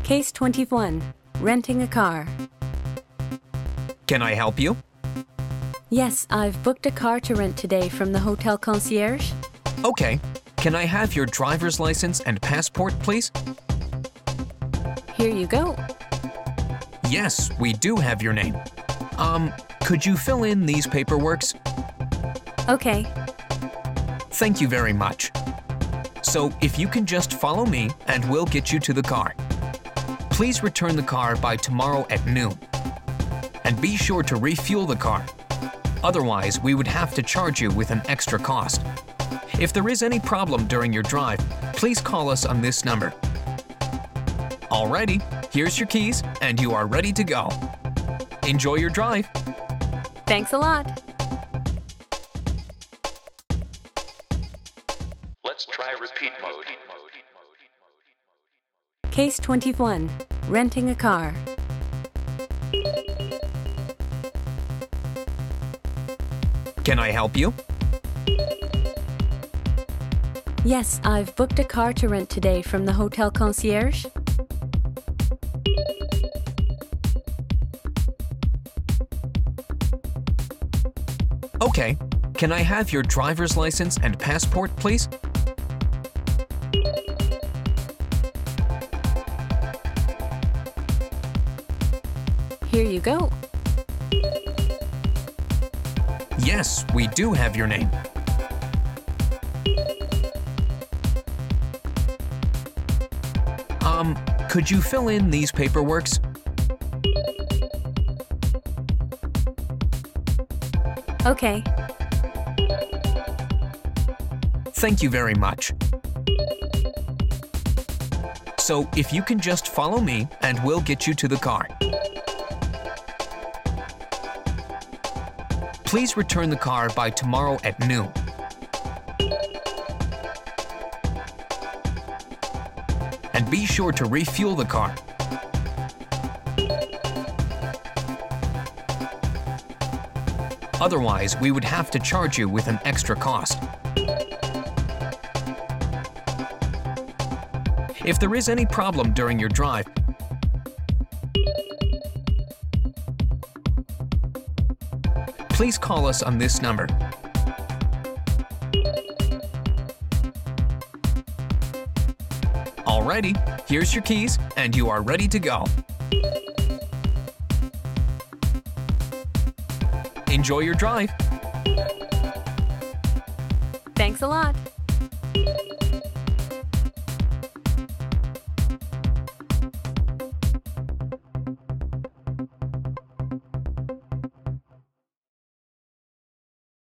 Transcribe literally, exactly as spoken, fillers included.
Case twenty-one. Renting a car. Can I help you? Yes, I've booked a car to rent today from the hotel concierge. Okay. Can I have your driver's license and passport, please? Here you go. Yes, we do have your name. Um, could you fill in these paperworks? Okay. Thank you very much. So, if you can just follow me and we'll get you to the car. Please return the car by tomorrow at noon. And be sure to refuel the car. Otherwise, we would have to charge you with an extra cost. If there is any problem during your drive, please call us on this number. Alrighty, here's your keys and you are ready to go. Enjoy your drive. Thanks a lot. Let's try repeat mode. Case twenty-one. Renting a car. Can I help you? Yes, I've booked a car to rent today from the hotel concierge. Okay. Can I have your driver's license and passport, please? Here you go. Yes, we do have your name. Um, could you fill in these paperworks? Okay. Thank you very much. So, if you can just follow me and we'll get you to the car. Please return the car by tomorrow at noon. And be sure to refuel the car. Otherwise, we would have to charge you with an extra cost. If there is any problem during your drive, please call us on this number. Alrighty, here's your keys and you are ready to go. Enjoy your drive. Thanks a lot.